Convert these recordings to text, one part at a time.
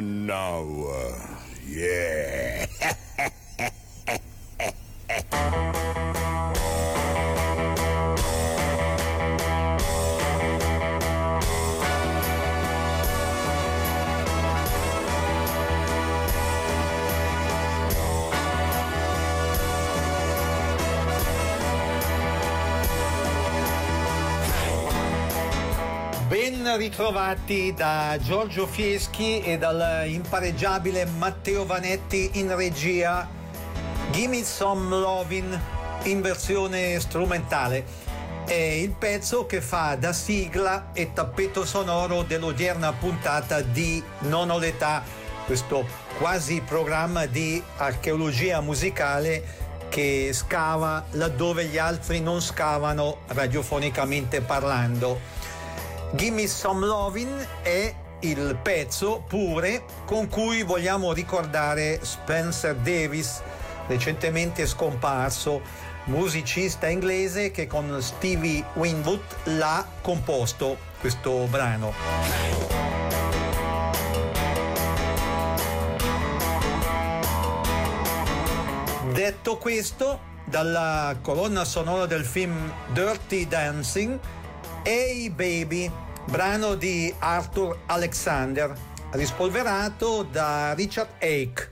now. Yeah. Ben ritrovati da Giorgio Fieschi e dal impareggiabile Matteo Vanetti in regia. Gimme Some Lovin' in versione strumentale. È il pezzo che fa da sigla e tappeto sonoro dell'odierna puntata di Non ho l'età, questo quasi programma di archeologia musicale che scava laddove gli altri non scavano, radiofonicamente parlando. Gimme Some Lovin' è il pezzo pure con cui vogliamo ricordare Spencer Davis, recentemente scomparso, musicista inglese che con Stevie Winwood l'ha composto questo brano. Detto questo, dalla colonna sonora del film Dirty Dancing, Hey Baby, brano di Arthur Alexander, rispolverato da Richard Ake.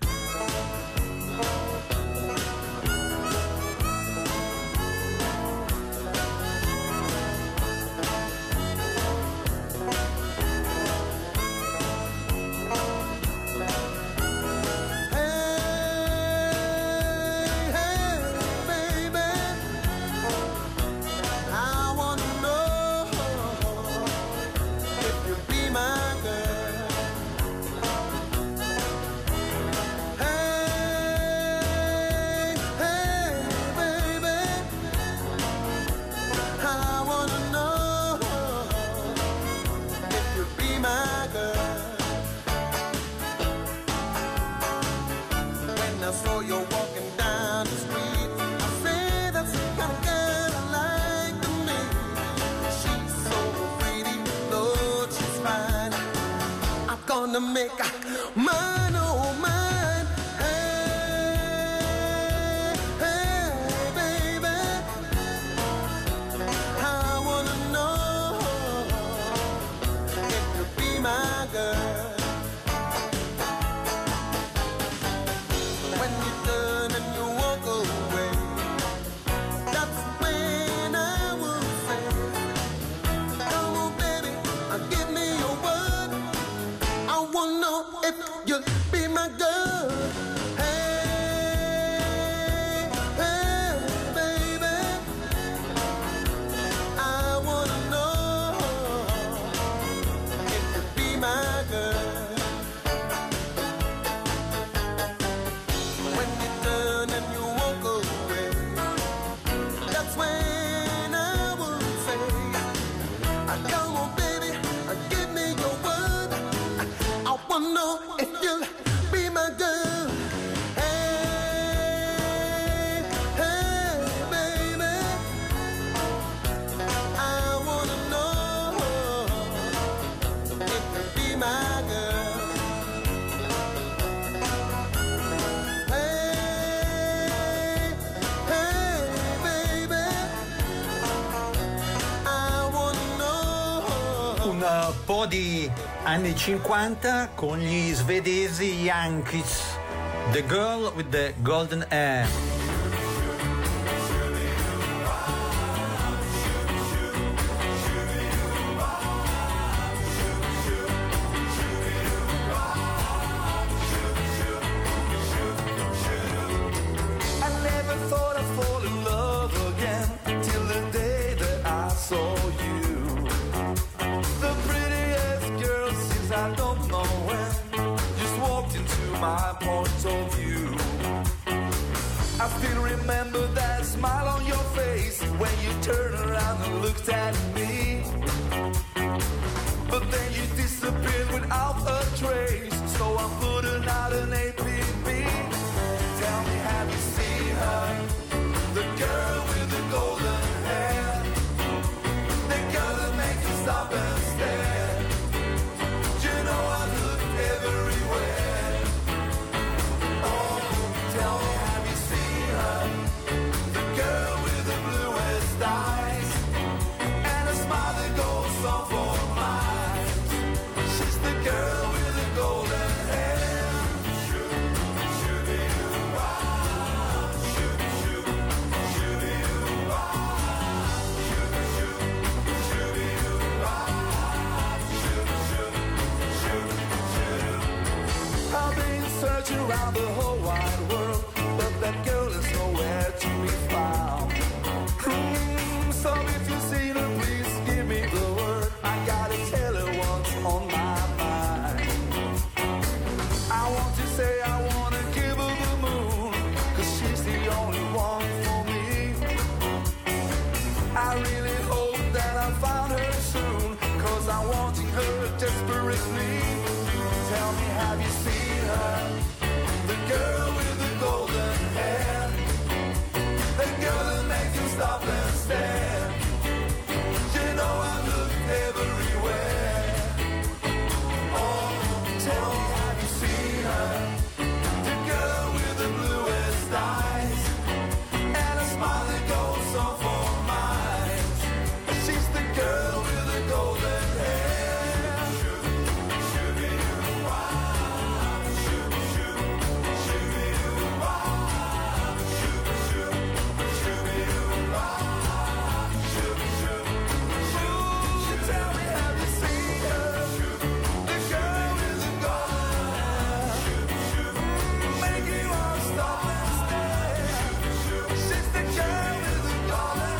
Di anni 50 con gli svedesi Yankees, The Girl with the Golden Hair. Stop and stare. You know I look everywhere. the whole wide world, but that girl is nowhere to be found. So if you see her, please give me the word. I gotta tell her what's on my mind. I want to say I wanna give her the moon, 'cause she's the only one for me. I really hope that I find her soon, 'cause I'm wanting her desperately. Tell me, have you seen her? The girl with the golden hair, the girl that makes you stop and stare. You know I look everywhere. Oh, tell me, have you seen her? The girl with the bluest eyes and a smile that goes so for miles. She's the girl with the golden hair. Tell me, have you seen her? The girl with the golden hair, make you wanna stop and stare. She's the girl with the golden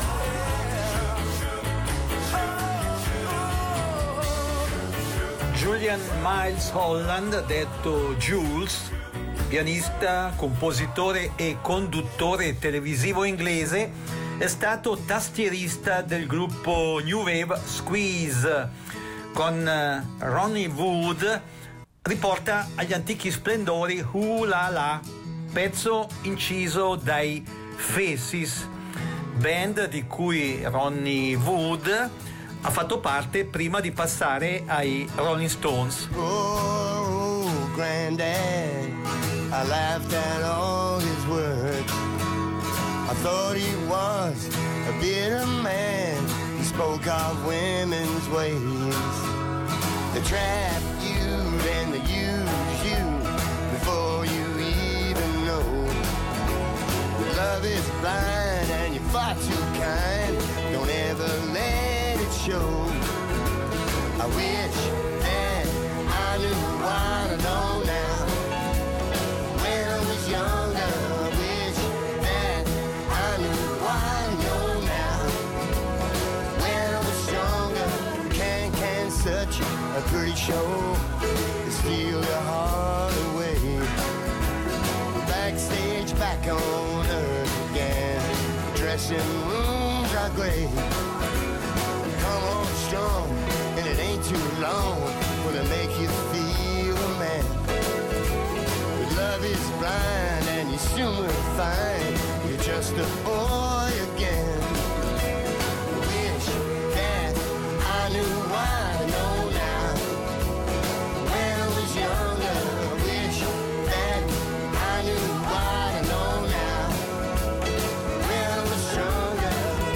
hair. Julian Miles Holland, detto Jules, pianista, compositore e conduttore televisivo inglese, è stato tastierista del gruppo New Wave Squeeze. Con Ronnie Wood riporta agli antichi splendori Ooh La La, pezzo inciso dai Faces, band di cui Ronnie Wood ha fatto parte prima di passare ai Rolling Stones. Oh, granddad, I laughed at all his words. I thought he was a bitter man. He spoke of women's ways. They trap you and they use you before you even know. Love is blind and you're far too kind. Don't ever let it show. I wish that I knew what I know now. When I was younger, I wish that I knew what I know now. When I was stronger, can such a pretty show to steal your heart away. Backstage, back on earth again. Dressing rooms are great. Come on strong, and it ain't too long for to make you feel a man. But love is blind, and you soon will find you're just a boy again. Wish that I knew what I know now. When I was younger, I wish that I knew what I know now. When I was stronger.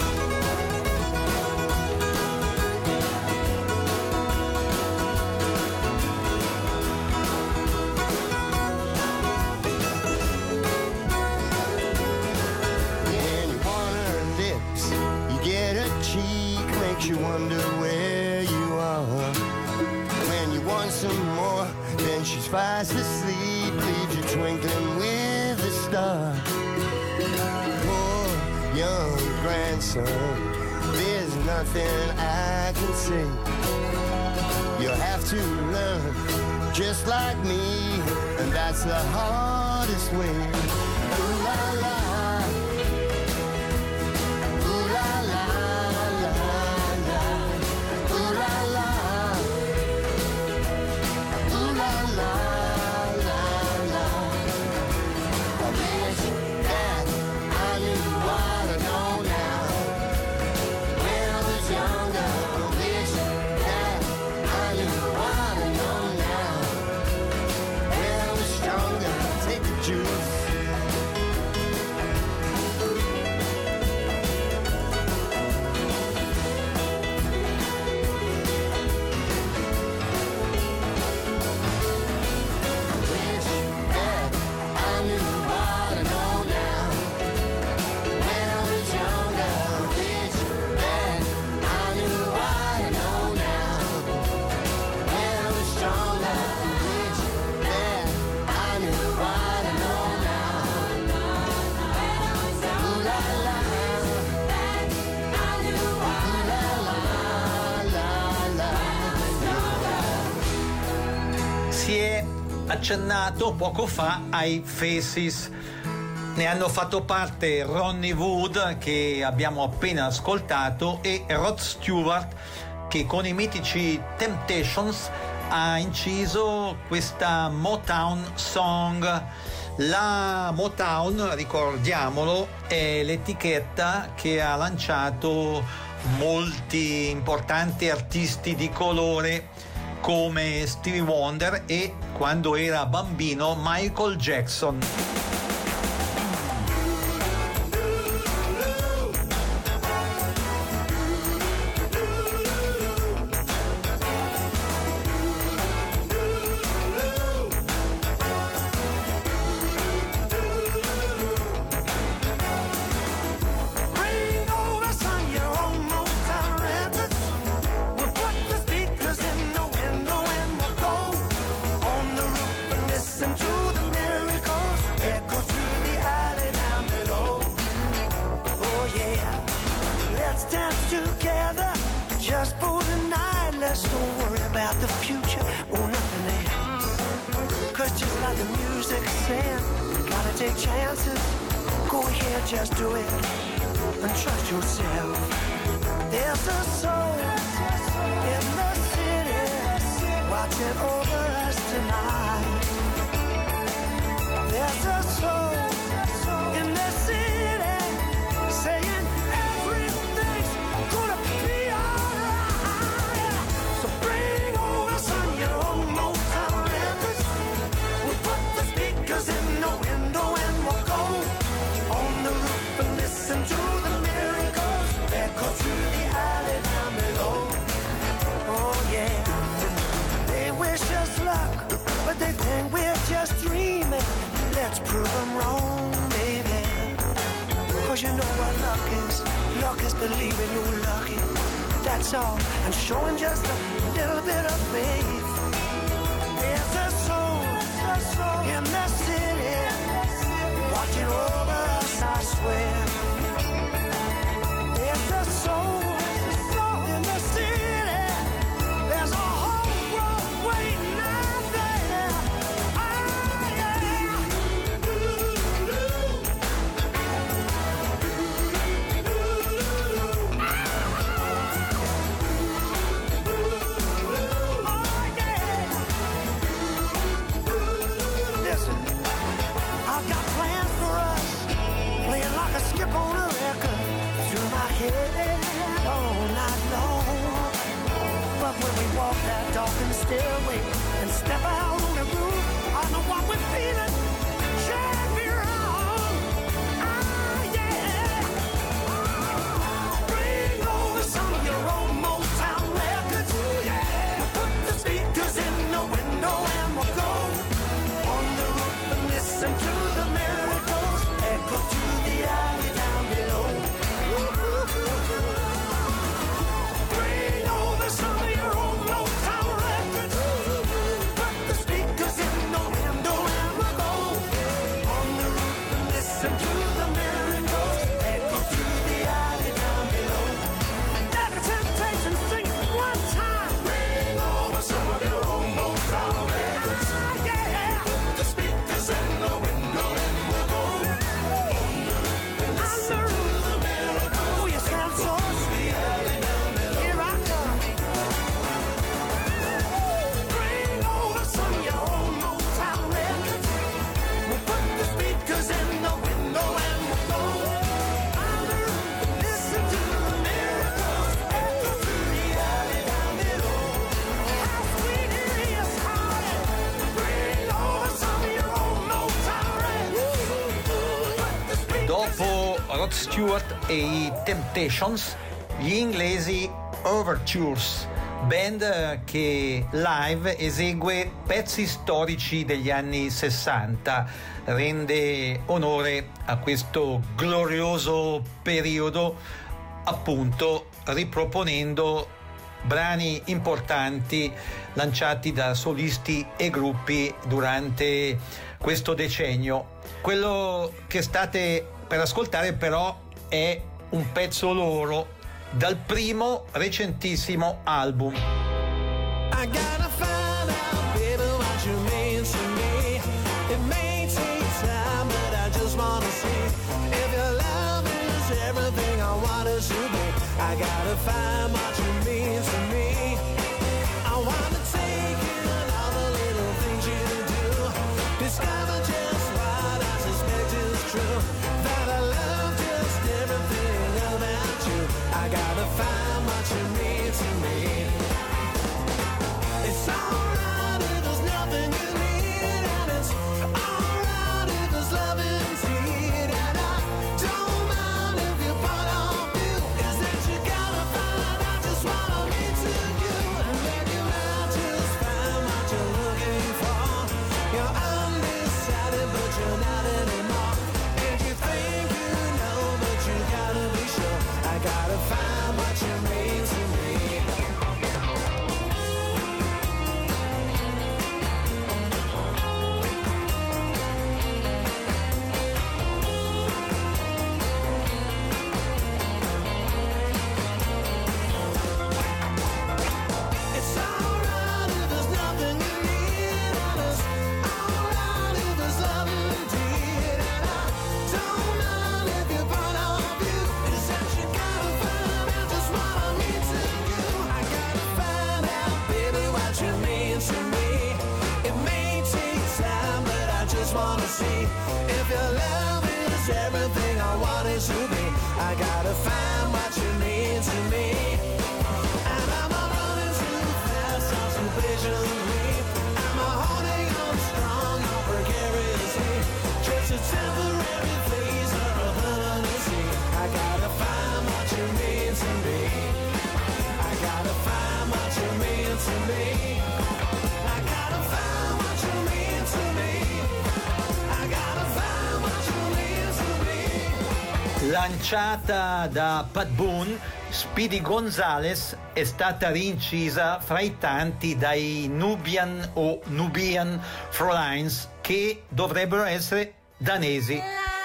When you want her lips, you get her cheek, makes you wonder where you are. When you want some more, then she's fast asleep, leaves you twinkling with a star. Poor young grandson, there's nothing I can say. You'll have to learn just like me, and that's the hardest way. Ooh la la, ooh la la la la, ooh la la, ooh la la la la. I wish that I knew what I know now. When I was younger, I wish that I knew what I know now. When I was stronger, take the juice. accennato poco fa ai Faces. Ne hanno fatto parte Ronnie Wood, che abbiamo appena ascoltato, e Rod Stewart, che con i mitici Temptations ha inciso questa Motown Song. La Motown, ricordiamolo, è l'etichetta che ha lanciato molti importanti artisti di colore come Stevie Wonder e, quando era bambino, Michael Jackson. Just do it and trust yourself. There's a soul in the city watching over us tonight. There's a soul in the city saying everything's gonna be alright. So bring over some your own Motown records. We'll put the speakers in the window and we'll go on the roof and listen to the miracles echo through the alley down below. Oh yeah, they wish us luck, but they think we're just dreaming. Let's prove them wrong, baby. Cause you know what luck is. Luck is believing you're lucky. That's all, and showing just a little bit of faith. There's a soul in the city watching over us, I swear. There's a soul in the city. There's a whole world waiting out there. Oh, yeah. Oh, yeah. Listen, I've got plans for us, playing like a skip on a record through my head all night long. But when we walk that darkened stairway and step out on the roof, I know what we're feeling can't be wrong. Ah, yeah. Bring over some of your own Motown records. Yeah. We'll put the speakers in the window and we'll go on the roof and listen to the miracles echo through the alley down below. Bring over some of your own Motown records. Put the speakers in the window and we'll go on the roof and listen to the miracles echo through the alley down below. Let the Temptations sing it one time. Bring over some of your own Motown records. Ah, yeah. Put the speakers in the window and we'll go on the roof the miracles. Oh, you sound so sweet. Here I come. Bring over some of your own Motown records. We'll put the speakers in the window and we'll go on the roof and listen to the miracles echo through the alley down below. How sweet it is, honey. Bring over some of your own Motown records. Put the speakers Dopo Rod Stewart e i Temptations, gli inglesi Overtures, band che live esegue pezzi storici degli anni 60, rende onore a questo glorioso periodo, appunto riproponendo brani importanti lanciati da solisti e gruppi durante questo decennio. Quello che state per ascoltare però è un pezzo loro dal primo recentissimo album. I gotta find out, baby, what you mean to me. it should be. I gotta find what you mean to me. I wanna take in all the little things you do, discover just what I suspect is true, that I love just everything about you. I gotta find what you mean to me. It's alright if there's nothing you need, and it's alright if there's love indeed, and I don't mind if you put on view, is that you gotta find out just what I mean to you, and then you might just find what you're looking for. You're undecided but you're not anymore, and you think you know but you gotta be sure. I gotta find what you mean to me. It's alright if there's nothing you need, and it's alright if there's love indeed, and I don't mind if you put on view, is that you gotta find out just what I mean to you. I gotta find out, baby, what you mean to me. It may take time, but I just wanna see if your love is everything I want it to be. I gotta find what you mean to me. And I'm a running too fast, I'm too patiently. I'm a holding on strong, on precariously. Just a temporary phase or a permanency. I gotta find what you mean to me. I gotta find what you mean to me. I gotta find what you mean to me. I gotta find what you mean to me. Lanciata da Pat Boone, Speedy Gonzales è stata rincisa fra i tanti dai Nubian o Nubian Frolines, che dovrebbero essere danesi.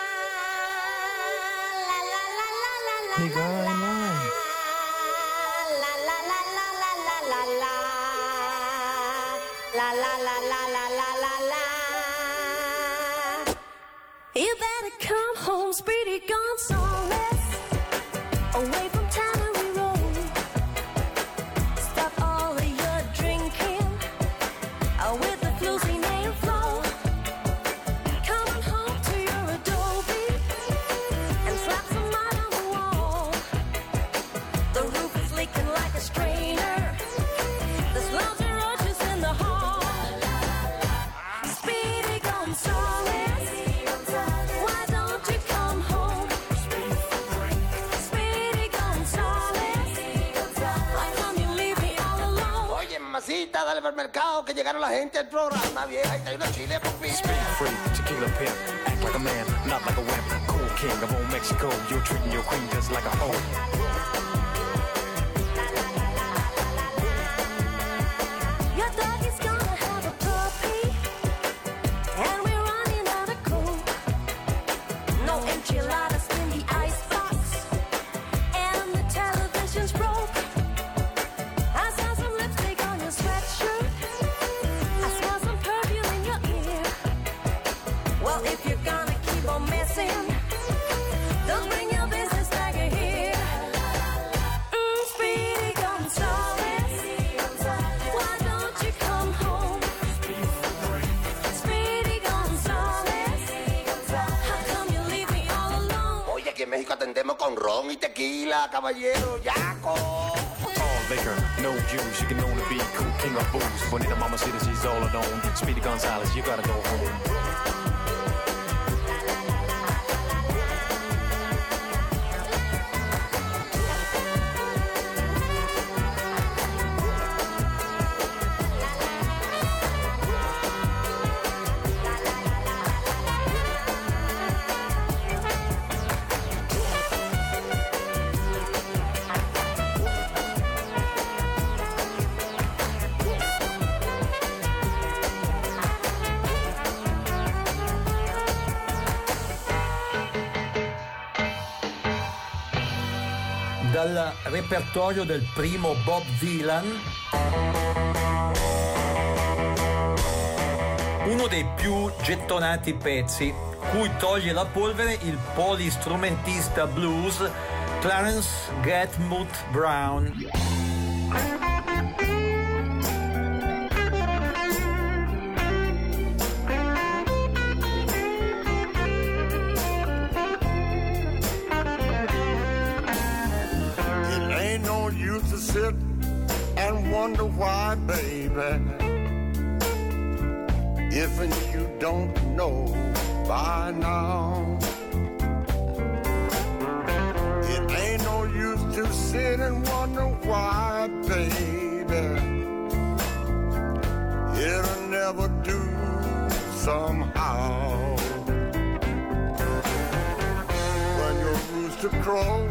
You better come home, Speedy Gonzales, away from Tannery Road. Stop all of your drinking with the floozy name flow. Coming home to your Adobe and slap some mud on the wall. The roof is leaking like a strainer. There's loads of roaches in the hall. Speedy Gonzales, why don't you come home? Speedy Gonzales, why come you leave me all alone? Oye, mamacita, dale para el mercado que llegaron la gente al programa, vieja, y trae unos chiles por fin. Speed free, tequila pimp, act like a man, not like a wimp. Cool king of old Mexico, you're treating your queen just like a hoe. Your doggy's gonna have a puppy, and we're running out of coke. No enchiladas in the icebox, and the television's broke. I saw some lipstick on your sweatshirt, I smell some perfume in your ear. Well, if you're gonna keep on messing, don't bring your business back here. Speedy Gonzales, why don't you come home? Speedy Gonzales, how come you leave me all alone? Oye, aquí en México atendemos con ron y tequila, caballero, yaco. All liquor, no juice, you can only be cool king of booze. Bonita mamacita, she's all alone. Speedy Gonzales, you gotta go home. Dal repertorio del primo Bob Dylan, uno dei più gettonati pezzi, cui toglie la polvere il polistrumentista blues Clarence Gatmouth Brown. It ain't no use to sit and wonder why, baby, if and you don't know by now. It ain't no use to sit and wonder why, baby, it'll never do somehow. When your rooster crows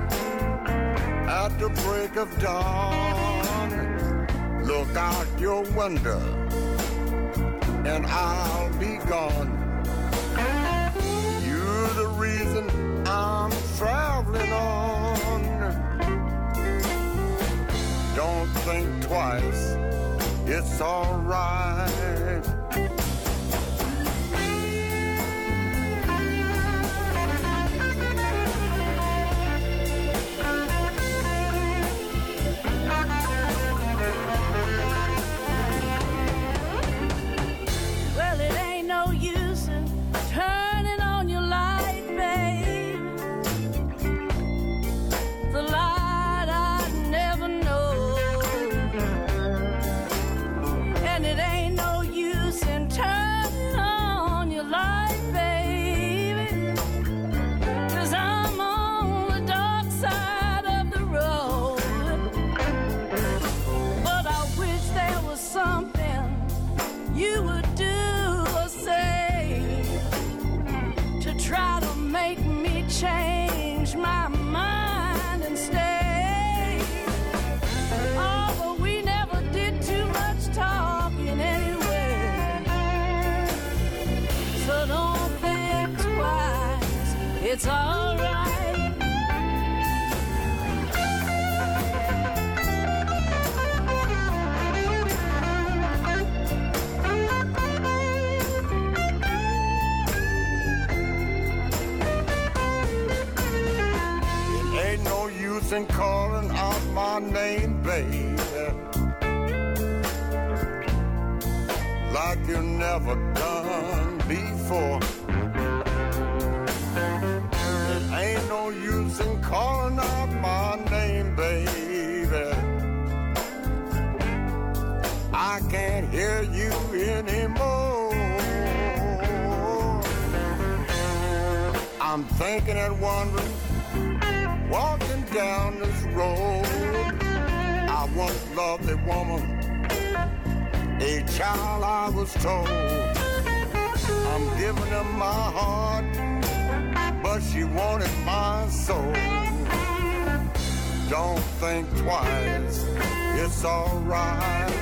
at the break of dawn, look out your window and I'll be gone. You're the reason I'm traveling on. Don't think twice, it's alright. Well, it ain't no use in turning on your light, babe. The light I never know. And it ain't no use in turning on your light, baby. 'Cause I'm on the dark side of the road. But I wish there was something you would do or say to try to make me change my mind and stay. Oh, but we never did too much talking anyway. So don't think twice, it's all right. Ain't no use in calling out my name, baby, like you never done before. It ain't no use in calling out my name, baby. I can't hear you anymore. I'm thinking and wondering, walking down this road. I once loved a woman, a child I was told. I'm giving her my heart, but she wanted my soul. Don't think twice, it's alright.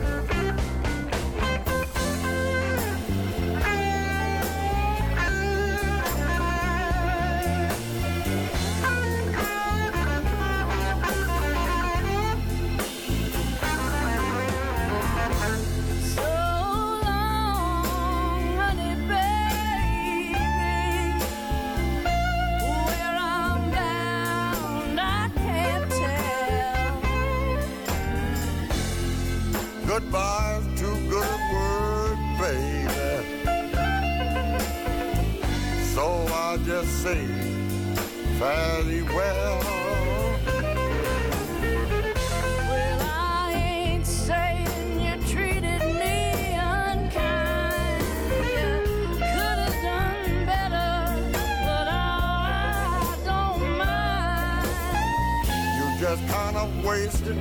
So long, honey, baby. Where I'm bound, I can't tell. Goodbye's too good a word, baby. So I just say fairly well. Well, I ain't saying you treated me unkind. You could have done better, but I don't mind. You just kind of wasted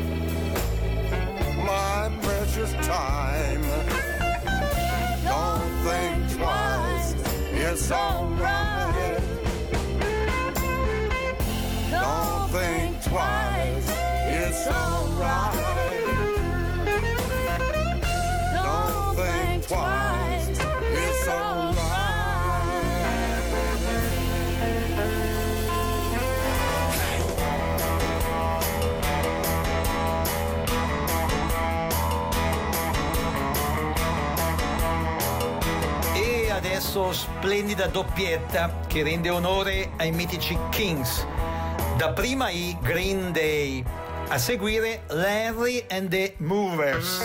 my precious time. Don't think twice, it's alright. Don't think twice, it's alright. Don't think twice, it's alright. E adesso adesso splendida doppietta che rende onore ai mitici Kings. Dapprima i Green Day, a seguire Larry and the Movers.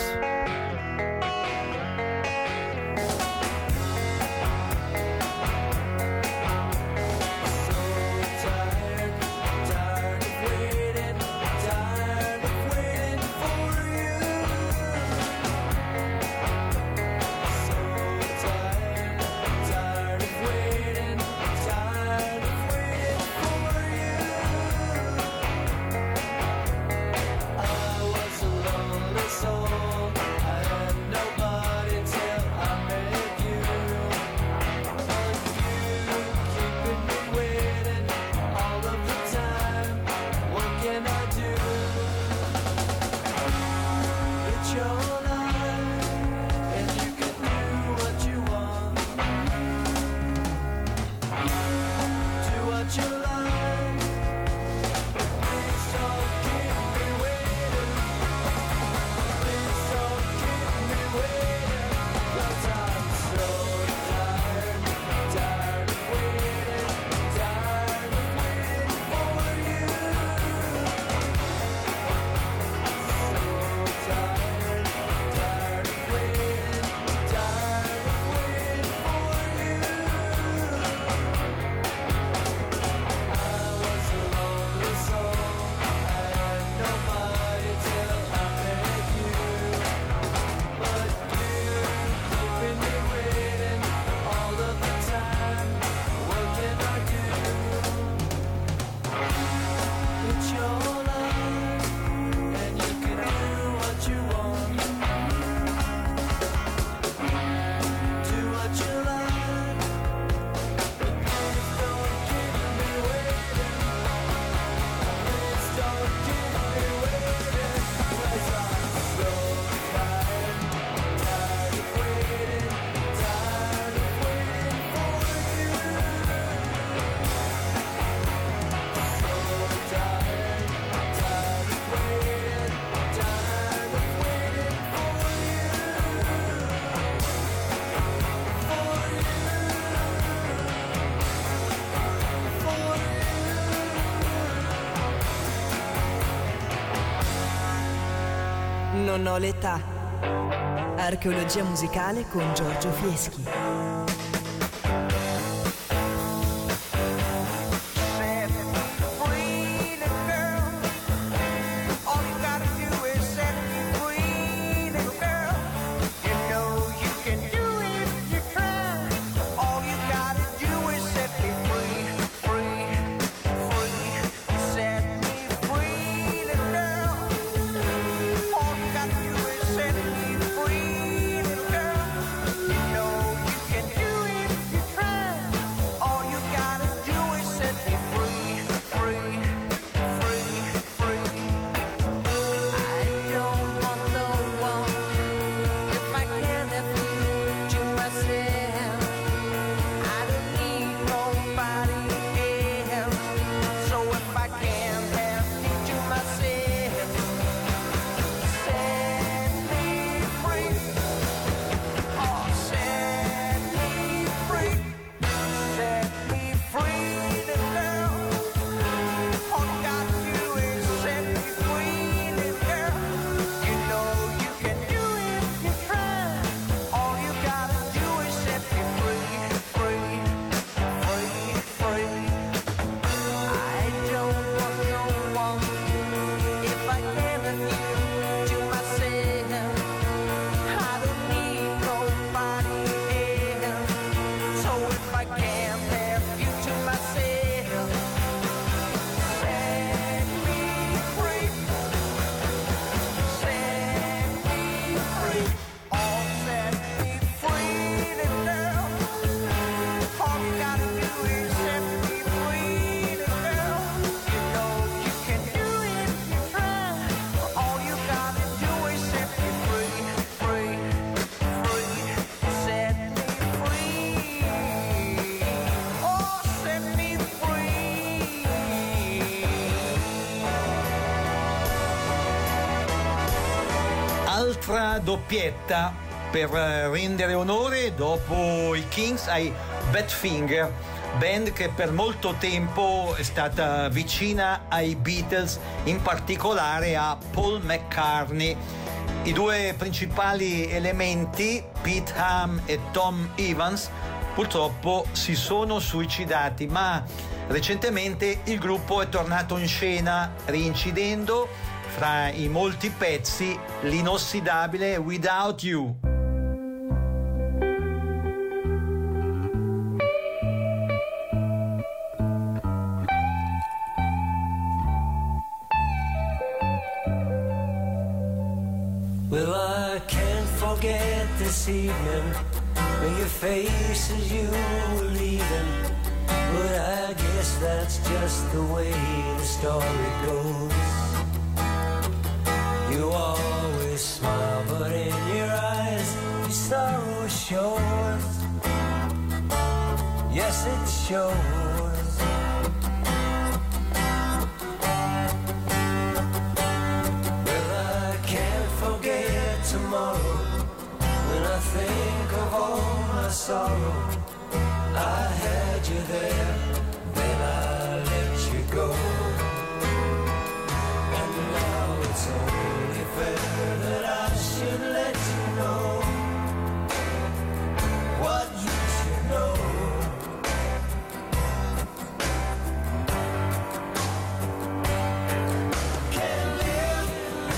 Non ho l'età. Archeologia musicale con Giorgio Fieschi. Altra doppietta per rendere onore dopo i Kings ai Badfinger, band che per molto tempo è stata vicina ai Beatles, in particolare a Paul McCartney. I due principali elementi, Pete Ham e Tom Evans, purtroppo si sono suicidati, ma recentemente il gruppo è tornato in scena reincidendo fra i molti pezzi l'inossidabile Without You. Well, I can't forget this evening when your face as you were leaving. But I guess that's just the way the story goes. You always smile, but in your eyes your sorrow shows. Yes, it shows. Well, I can't forget tomorrow when I think of all my sorrow. I had you there, then I let you go. And now it's only fair that I should let you know what you should know. Can't live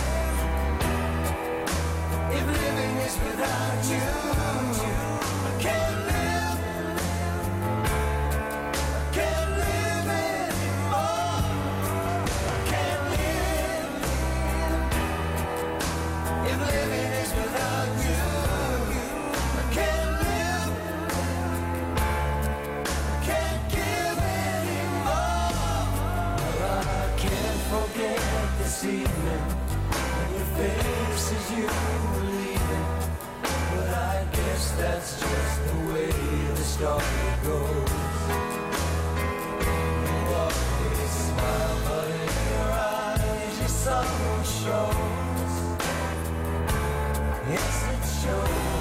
if living is without you. I can't live. Can't live anymore. Can't live if living is without you. I can't live. Can't give anymore. Well, I can't forget this evening when your face as you were leaving. But I guess that's just the way the story goes. Smile, but in your eyes your sorrow shows. Yes, it shows.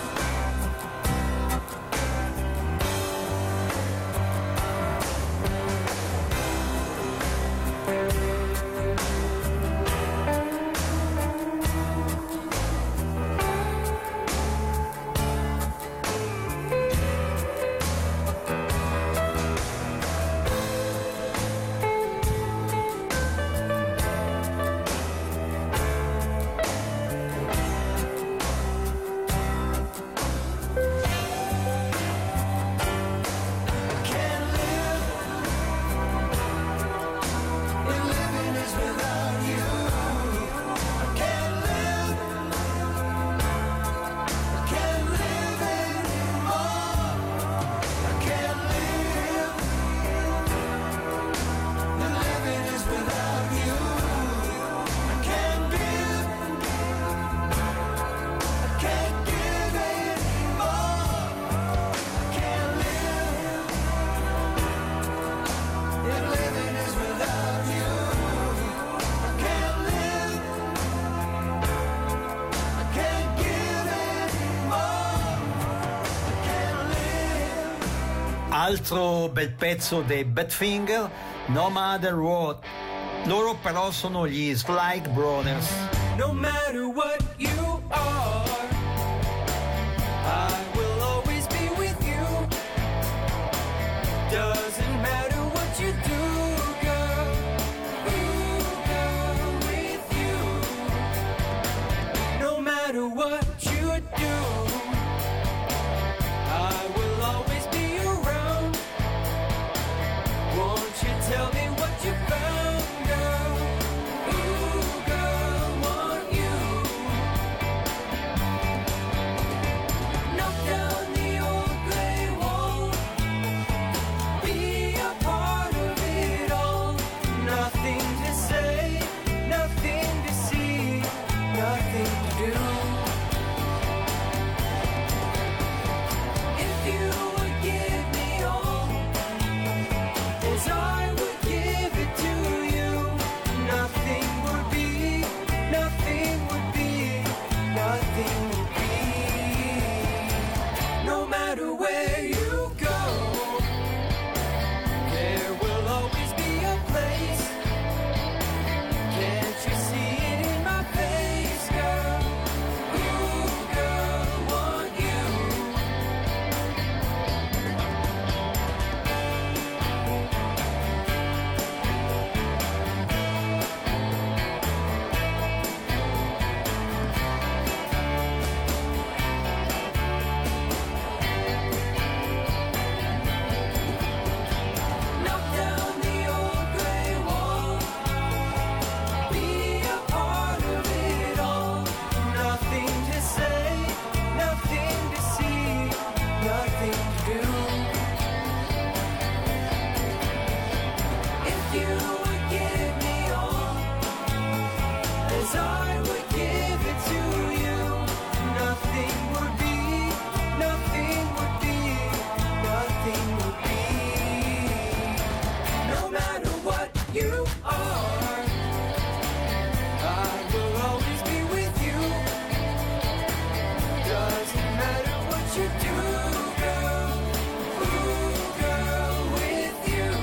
Altro bel pezzo dei Badfinger, No Matter What. Loro però sono gli Sly Brothers. No matter what you are, I will always be with you. Doesn't matter what you do, girl. Ooh, girl, with you. No matter what you do, I will always be around. Won't you tell me what you found, girl? Ooh, girl, want you. you would give me all, as I would give it to you. Nothing would be, nothing would be, nothing would be. No matter what you are, I will always be with you. Doesn't matter what you do, girl. Ooh, girl, with you.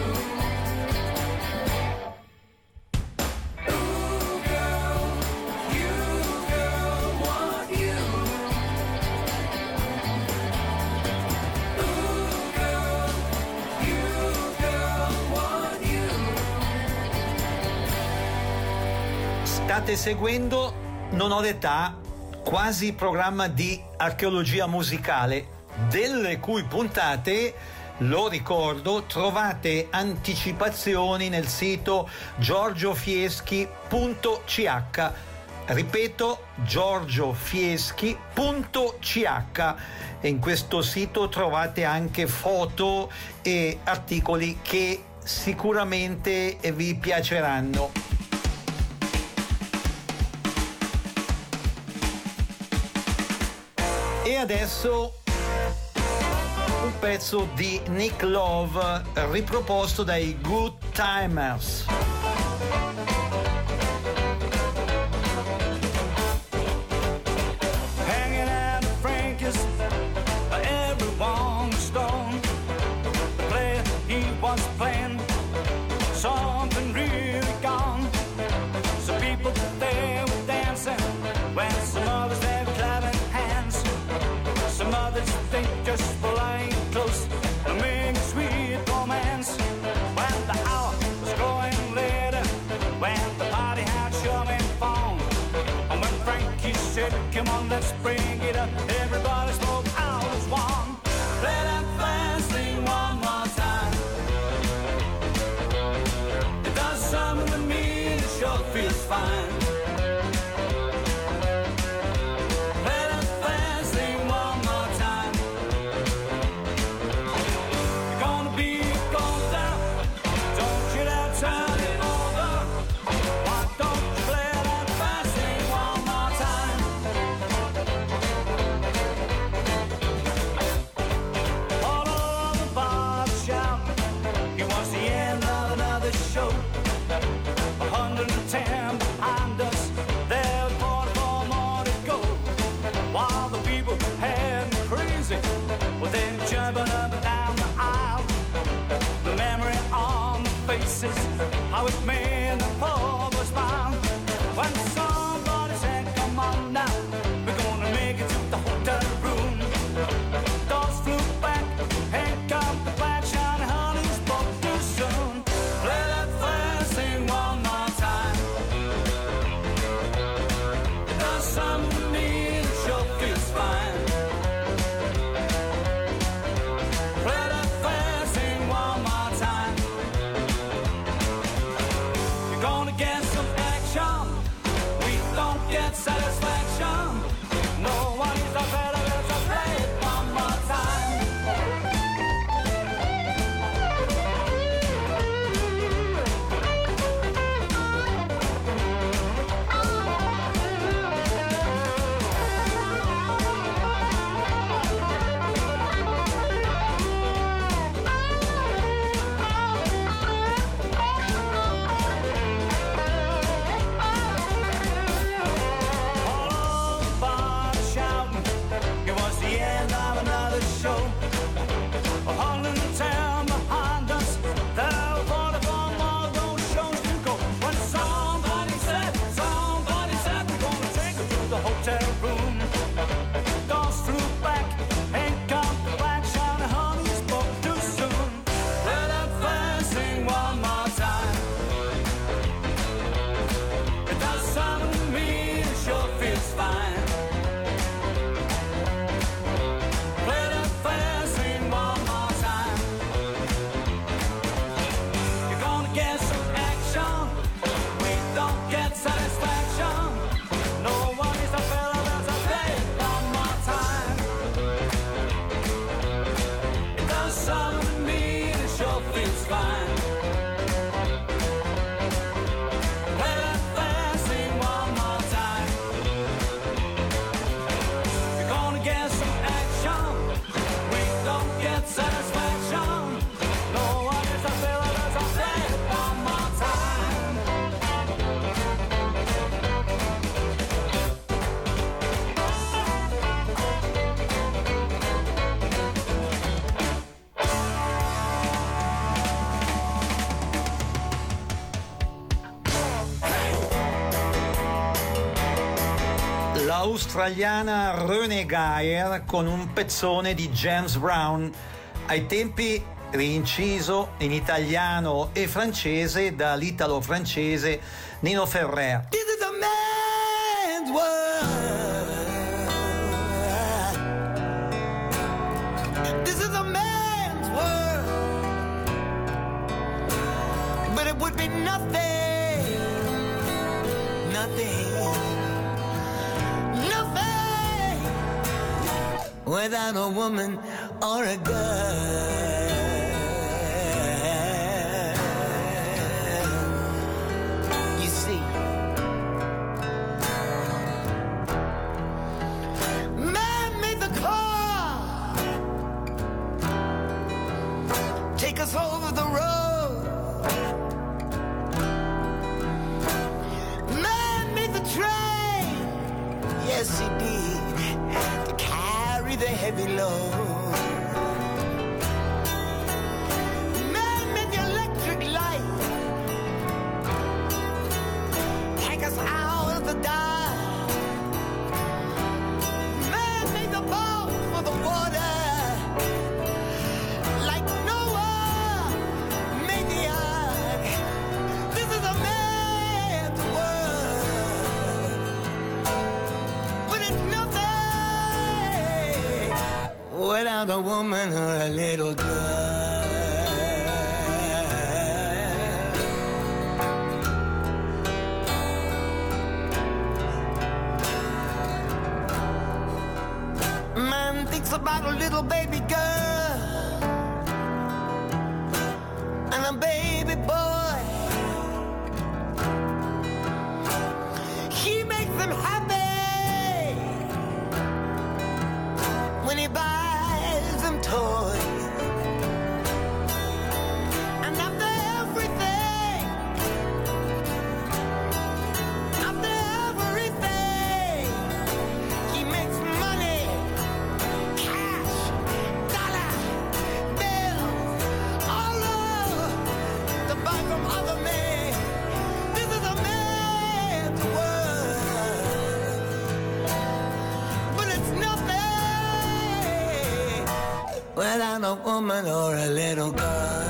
Ooh, girl, you, girl, want you. Ooh, girl, you, girl, want you. State seguendo Non ho l'età, quasi programma di archeologia musicale, delle cui puntate, lo ricordo, trovate anticipazioni nel sito giorgiofieschi.ch. Ripeto, giorgiofieschi.ch, e in questo sito trovate anche foto e articoli che sicuramente vi piaceranno. E adesso un pezzo di Nick Love riproposto dai Good Timers. Hanging out at Frankie's, everyone was stoned. The player he was playing, something really gone. Some people there were dancing, when some others they were clapping hands. Some others they just were lying close and making sweet romance. When the hour was growing later, when the party had sure been fun, and when Frankie said, "Come on, let's bring it up," everybody spoke out as one. Play that fast thing one more time. It does something to me, it sure feels fine. Play that fast thing one more time. You're gonna be gone down, don't you dare turn it over. Why don't you play that fast thing one more time? All over the bar shout, it was the end of another show. 110 behind us, there were 44 more to go. While the people heading crazy, well then jumping up and down the aisle. The memory on the faces, how it made the poor boy smile. When somebody said, "Come on now, we're gonna make it to the hotel room." Doors flew back, and come the black shiny honey spoke too soon. Play that fast thing one more time. It does something to me that sure feels fine. Play that fast thing one more time. You're gonna get some l'australiana René Geyer con un pezzone di James Brown, ai tempi rinciso in italiano e francese dall'italo-francese Nino Ferrer. This is a man's world. This is a man's world. But it would be nothing, nothing, nothing without a woman or a girl. You see, man made the car take us over the road. Man made the train, yes he did, to carry the heavy load. Man made the electric light take us out of the dark. Man made the boat for the water, like Noah made the ark. This is a man's world, but it's nothing without a woman or a little girl. Man thinks about a little baby girl and a baby boy. He makes them happy when he buys them toys. And after everything, he makes money, cash, dollar, bills, all over to buy from other men. This is a man's world, but it's nothing without a woman or a little girl.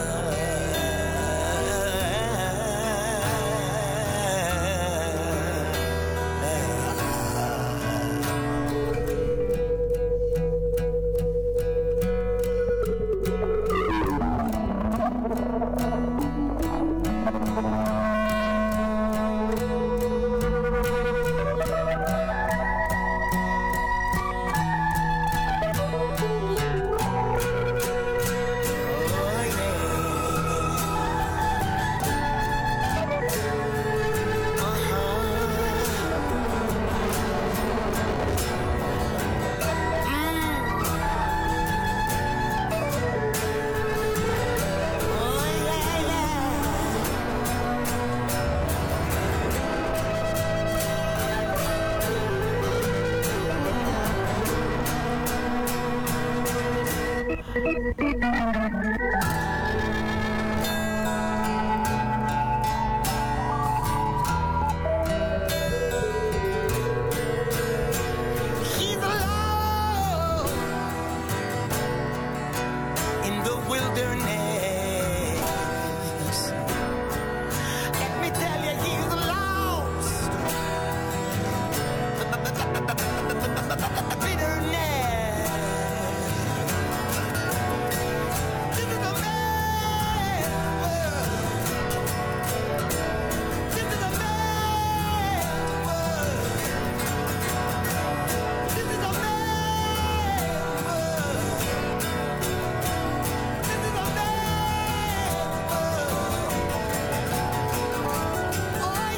He's alone in the wilderness. Let me tell you, he's lost. Bitterness. This is a man's world. This is a man's world. This is a man's world. This is a man's world. Oh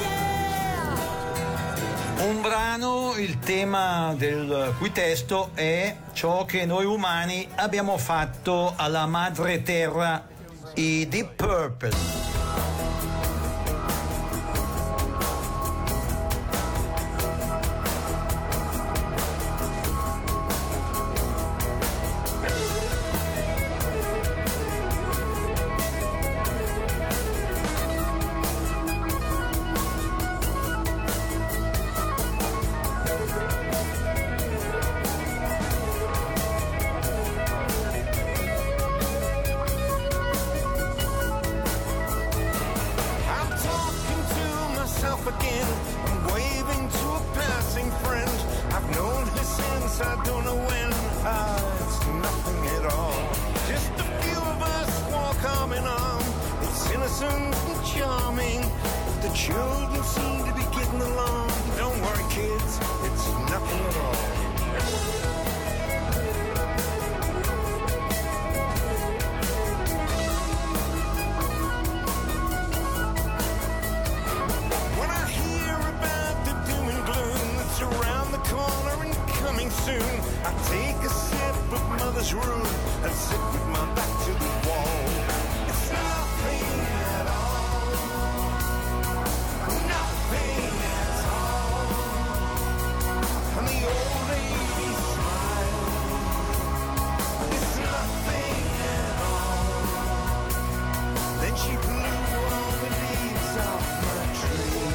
yeah. Un brano, il tema del cui testo è ciò che noi umani abbiamo fatto alla madre terra, i Deep Purple. place I don't know when. It's nothing at all. Just a few of us walk arm in arm. It's innocent and charming. The children seem to be getting along. Don't worry, kids, it's nothing at all. When I hear about the doom and gloom that's around the corner and coming soon, I take a sip of Mother's Brew and sit with my back to the wall. It's nothing at all. Nothing at all. And the old lady smiles. It's nothing at all. Then she blew all the leaves off my tree.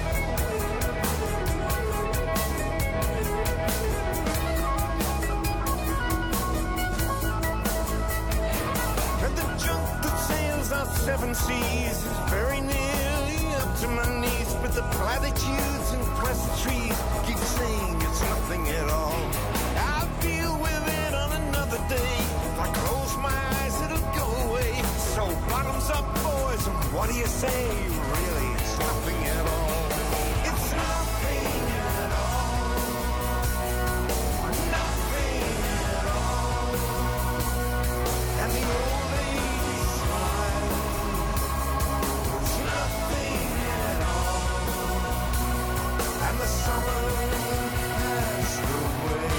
And the junk that sails our seven seas is very nearly up to my knees, but the platitudes and pleasantries keep saying it's nothing at all. I'll deal with it on another day. If I close my eyes, it'll go away. So bottoms up, boys, and what do you say? Really, it's nothing at all. It's nothing at all. Nothing at all. And the old lady smiles. It's nothing at all. And the summer passed away.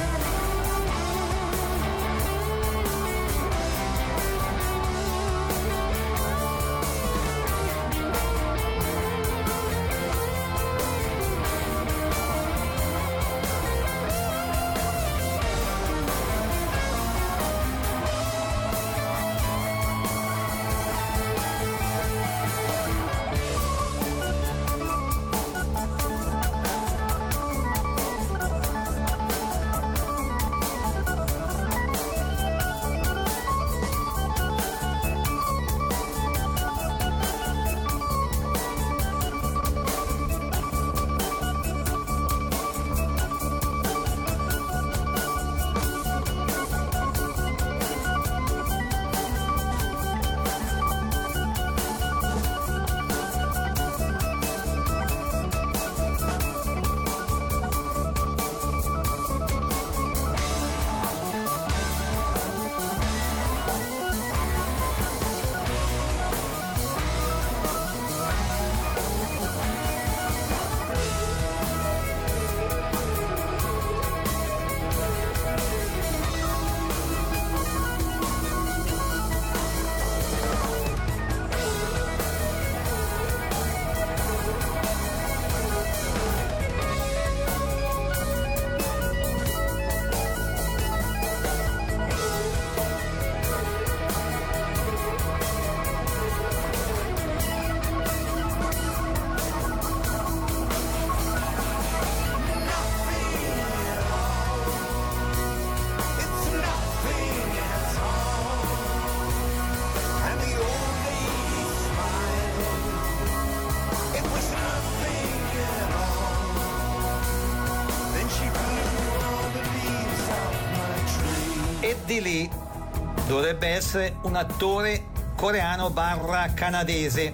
Di lì dovrebbe essere un attore coreano barra canadese.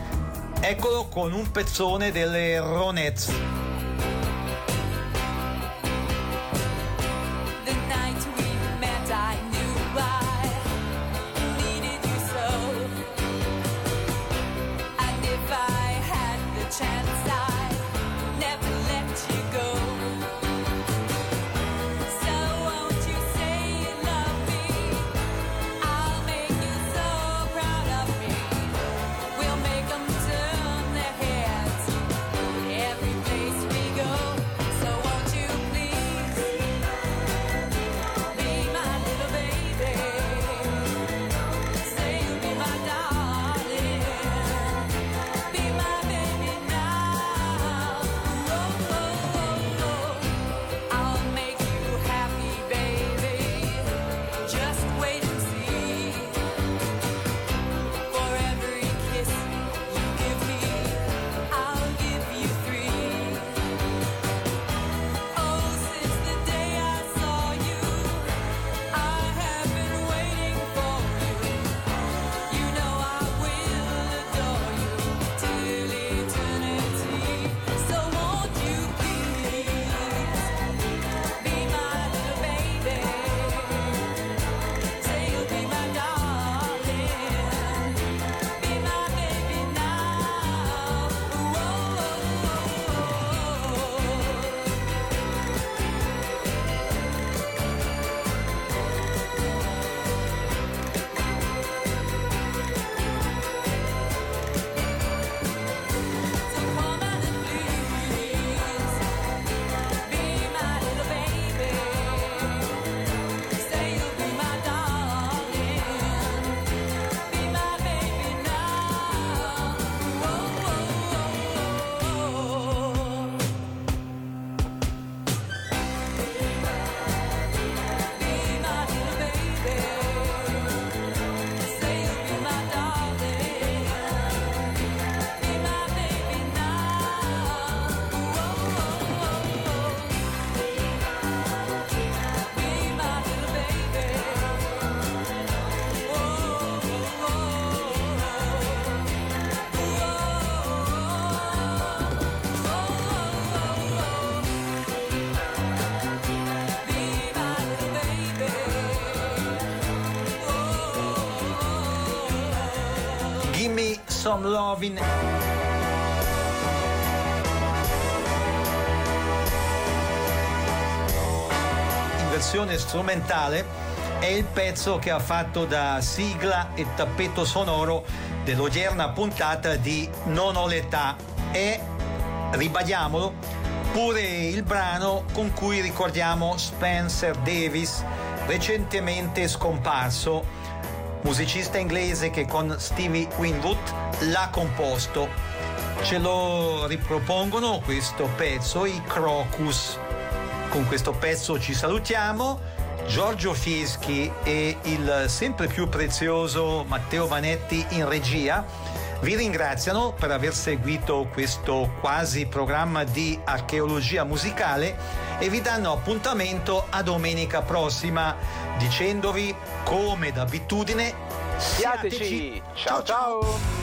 Eccolo con un pezzone delle Ronettes. The night we met, I knew I needed you so. And if I had the chance, I'd never let you go. So won't you say you love me? I'll make you so proud of me. We'll make 'em turn their heads every place Some Lovin'. In versione strumentale è il pezzo che ha fatto da sigla e tappeto sonoro dell'odierna puntata di Non ho l'età. E, ribadiamolo, pure il brano con cui ricordiamo Spencer Davis, recentemente scomparso, musicista inglese che con Stevie Winwood l'ha composto. Ce lo ripropongono questo pezzo, i Crocus. Con questo pezzo ci salutiamo. Giorgio Fieschi e il sempre più prezioso Matteo Vanetti in regia vi ringraziano per aver seguito questo quasi programma di archeologia musicale e vi danno appuntamento a domenica prossima, dicendovi, come d'abitudine, Siateci! Ciao ciao!